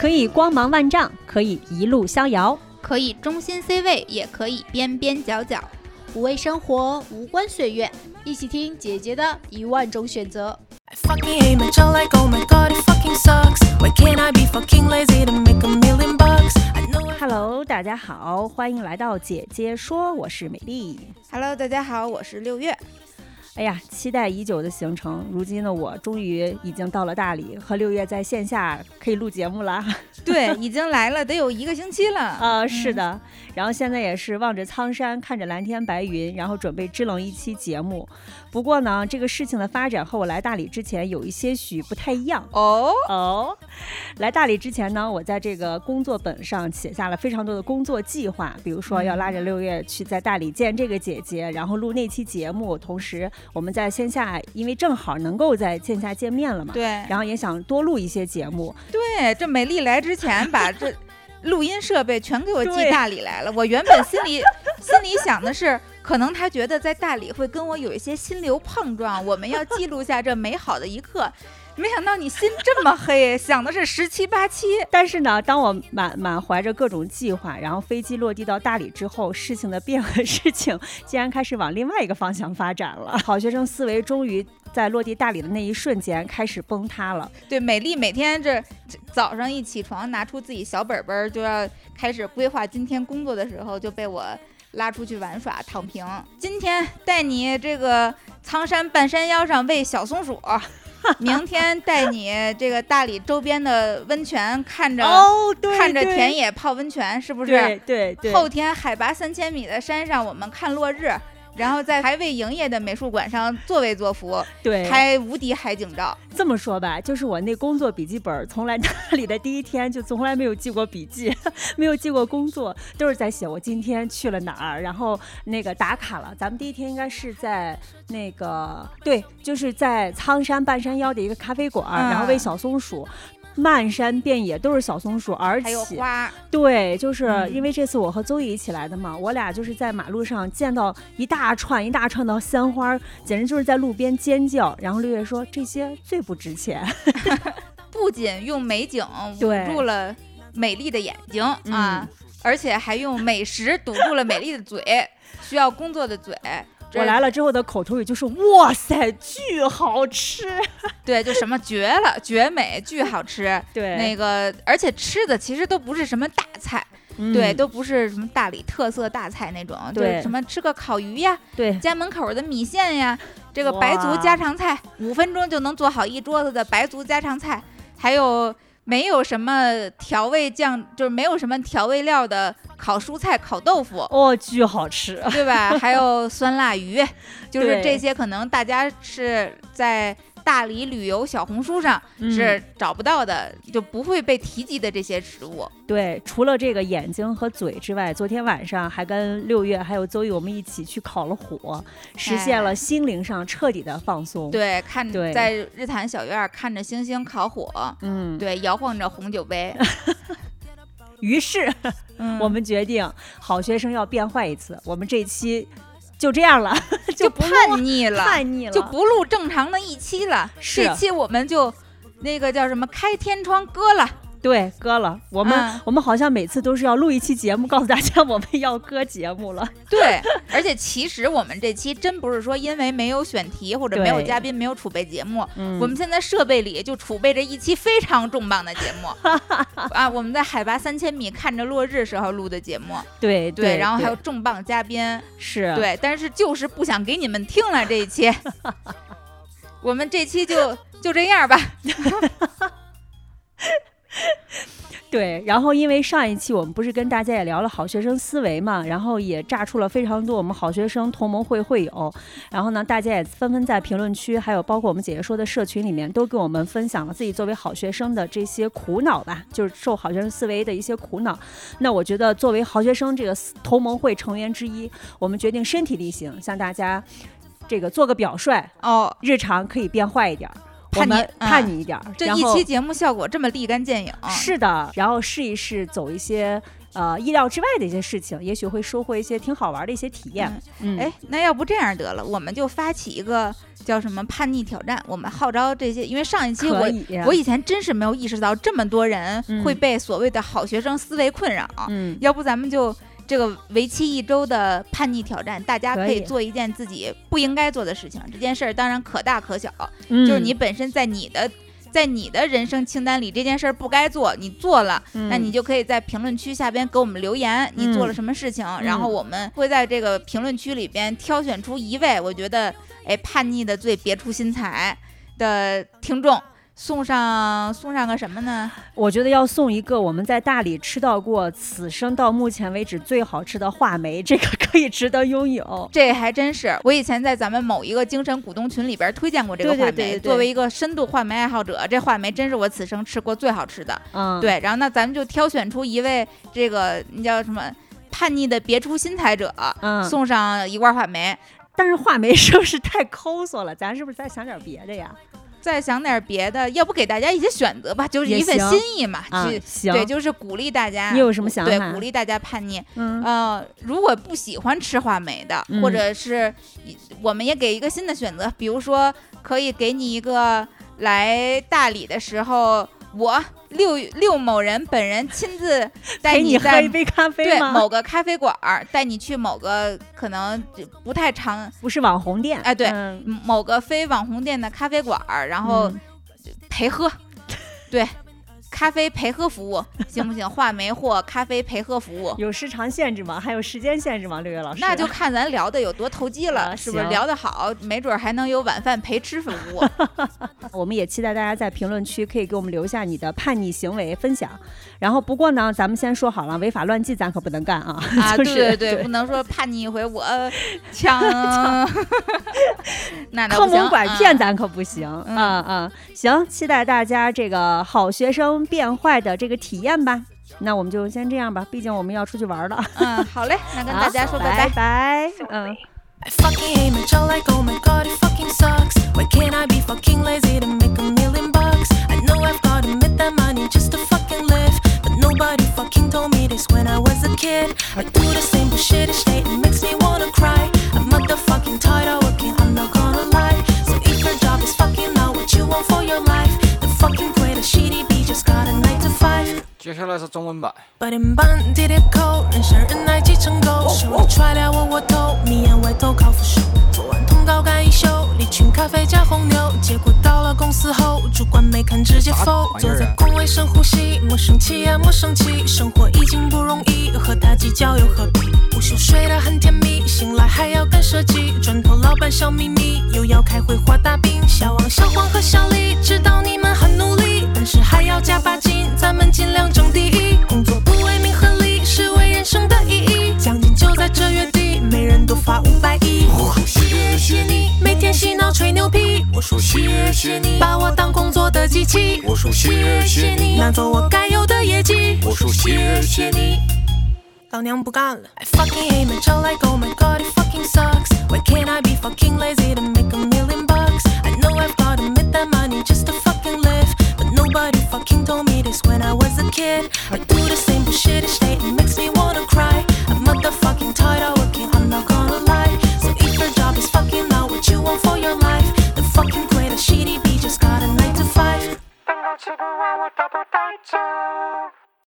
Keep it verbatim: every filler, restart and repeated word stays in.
可以光芒万丈，可以一路逍遥， 可以中心 C 位，也可以边边角角。 无畏生活，无关岁月，一起听姐姐的一万种选择。 Hello， 大家好，欢迎来到姐姐说，我是美丽。 Hello， 大家好，我是六月。 哎呀，期待已久的行程，如今的我终于已经到了大理，和六月在线下可以录节目了。 对，已经来了，得有一个星期了。 呃，是的。然后现在也是望着苍山，看着蓝天白云，然后准备支棱一期节目。不过呢，这个事情的发展和我来大理之前有一些许不太一样。 哦哦，来大理之前呢，我在这个工作本上写下了非常多的工作计划，比如说要拉着六月去在大理见这个姐姐，然后录那期节目，同时我们在线下，因为正好能够在线下见面了嘛， 对， 然后也想多录一些节目。 对，这美丽来之前把这录音设备全给我寄大理来了。我原本心里心里想的是，可能他觉得在大理会跟我有一些心流碰撞，我们要记录下这美好的一刻。没想到你心这么黑，想的是十七八七。 但是呢，当我满满怀着各种计划，然后飞机落地到大理之后，事情的变和事情竟然开始往另外一个方向发展了。好学生思维终于在落地大理的那一瞬间开始崩塌了。 对，美丽每天这早上一起床，拿出自己小本本就要开始规划今天工作的时候，就被我拉出去玩耍躺平。今天带你这个苍山半山腰上喂小松鼠，明天带你这个大理周边的温泉看着、 哦、对看着田野泡温泉，是不是？ 对对对。 后天海拔三千米的山上我们看落日，然后在还未营业的美术馆上作威作福， 对， 拍无敌海景照。 这么说吧，就是我那工作笔记本从来大理的第一天就从来没有记过笔记，没有记过工作，都是在写我今天去了哪儿，然后那个打卡了。咱们第一天应该是在那个对，就是在苍山半山腰的一个咖啡馆，嗯、然后喂小松鼠。漫山遍野都是小松鼠，而且还有花。 对，就是因为这次我和邹毅一起来的嘛，我俩就是在马路上见到一大串一大串的鲜花，简直就是在路边尖叫。然后六月说这些最不值钱， 不仅用美景捂住了美丽的眼睛啊、 嗯， 而且还用美食堵住了美丽的嘴，需要工作的嘴。 我来了之后的口头语就是哇塞巨好吃， 对，就什么绝了绝美巨好吃。 对， 那个而且吃的其实都不是什么大菜、嗯、对，都不是什么大理特色大菜那种， 对， 就是什么吃个烤鱼呀， 对， 家门口的米线呀，这个白族家常菜，五分钟就能做好一桌子的白族家常菜，还有没有什么调味酱，就是没有什么调味料的烤蔬菜烤豆腐， 哦，巨好吃， 对吧？还有酸辣鱼，就是这些可能大家是在大理旅游小红书上是找不到的、嗯、就不会被提及的这些食物。 对，除了这个眼睛和嘴之外，昨天晚上还跟六月还有邹毅我们一起去烤了火，实现了心灵上彻底的放松。 对，看在日坛小院看着星星烤火，嗯，对，摇晃着红酒杯。 于是、 嗯、 我们决定好学生要变坏一次，我们这期就这样了， 就叛逆了， 叛逆了， 就不录正常的一期了。这期我们就那个叫什么开天窗割了。 对，割了。我们、嗯、我们好像每次都是要录一期节目告诉大家我们要割节目了。 对，而且其实我们这期真不是说因为没有选题或者没有嘉宾没有储备节目、嗯、我们现在设备里就储备着一期非常重磅的节目啊，我们在海拔三千米看着落日时候录的节目。 对对, 对，然后还有重磅嘉宾。 是， 对，但是就是不想给你们听了这一期我们这期就就这样吧对，然后因为上一期我们不是跟大家也聊了好学生思维嘛，然后也炸出了非常多我们好学生同盟会会友，然后呢大家也纷纷在评论区还有包括我们姐姐说的社群里面都跟我们分享了自己作为好学生的这些苦恼吧，就是受好学生思维的一些苦恼。那我觉得作为好学生这个同盟会成员之一，我们决定身体力行向大家这个做个表率哦， 日常可以变坏一点， 叛逆叛逆一点、 嗯、这一期节目效果这么立竿见影。 是的，然后试一试走一些呃意料之外的一些事情，也许会收获一些挺好玩的一些体验。 嗯，哎、嗯，那要不这样得了，我们就发起一个叫什么叛逆挑战，我们号召这些，因为上一期我我以前真是没有意识到这么多人会被所谓的好学生思维困扰。嗯，要不咱们就这个为期一周的叛逆挑战，大家可以做一件自己不应该做的事情。这件事儿当然可大可小，嗯、就是你本身在你的。在你的人生清单里这件事儿不该做，你做了、嗯、那你就可以在评论区下边给我们留言、嗯、你做了什么事情、嗯、然后我们会在这个评论区里边挑选出一位我觉得哎叛逆的最别出心裁的听众，送上送上个什么呢？ 我觉得要送一个我们在大理吃到过此生到目前为止最好吃的话梅，这个可以值得拥有。 这还真是，我以前在咱们某一个精神股东群里边推荐过这个话梅， 对对对对对， 作为一个深度话梅爱好者，这话梅真是我此生吃过最好吃的。嗯，对。然后那咱们就挑选出一位这个你叫什么叛逆的别出心裁者，嗯，送上一罐话梅。 但是话梅是不是太抠索了？咱是不是再想点别的呀？ 再想点别的，要不给大家一些选择吧，就是一份心意嘛。 啊、行， 对，就是鼓励大家。 你有什么想法？ 对，鼓励大家叛逆。嗯，呃，如果不喜欢吃话梅的，嗯、或者是我们也给一个新的选择，比如说可以给你一个来大理的时候，我六六某人本人亲自带你在喝一杯咖啡吗？ 对，某个咖啡馆带你去某个可能不太常不是网红店， 哎，对、 嗯， 某个非网红店的咖啡馆，然后陪喝，嗯、对。咖啡陪喝服务行不行？话梅或咖啡陪喝服务有时长限制吗？还有时间限制吗？六月老师， 那就看咱聊的有多投机了，啊、是不是？聊得好，没准还能有晚饭陪吃服务。 我们也期待大家在评论区可以给我们留下你的叛逆行为分享。然后不过呢，咱们先说好了，违法乱纪咱可不能干啊！ 啊， 就是、 对对对，不能说叛逆一回我枪，那坑蒙拐骗咱可不行啊、嗯、啊！行，期待大家这个好学生变坏的这个体验吧。那我们就先这样吧，毕竟我们要出去玩了。 嗯，好嘞，那跟大家说拜拜拜。嗯。 I fucking hate my job like oh my god it fucking sucks. Why can't I be fucking lazy to make a million bucks? I know I've gotta make that money just to fucking live, but nobody fucking told me this when I was a kid. I do the same bullshit each day, it makes me wanna cry. I'm motherfucking tired of working, I'm not gonna lie. So if your job is fucking not what you want for your life, then fucking quit a shitty beat, just got a nine to five. 接下来是中文版。 八点半地铁口，人山人海挤成狗，手里揣了窝窝头，迷眼外头靠扶手。做完通告赶一宿，离群咖啡加红牛，结果到了公司后，主管没看直接否。坐在工位深呼吸，莫生气啊莫生气，生活已经不容易，和他计较又何必？午休睡得很甜蜜，醒来还要赶设计，转头老板小秘密，又要开会画大饼。小王小黄和小李知道你们很努力，但是还要加把劲，咱们尽量争第一。工作不为名和利，是为人生的意义。奖金就在这月底，每人都发五百亿。我说谢谢你，每天洗脑吹牛皮。我说谢谢你，把我当工作的机器。我说谢谢你，拿走我该有的业绩。我说谢谢你。老娘不干了 I fucking hate my job like oh my god it fucking sucks. Why can't I be fucking lazy to make a million bucks? I know I've gotta make that money just to fucking live, but nobody fucking told me this when I was a kid. I do the same bullshit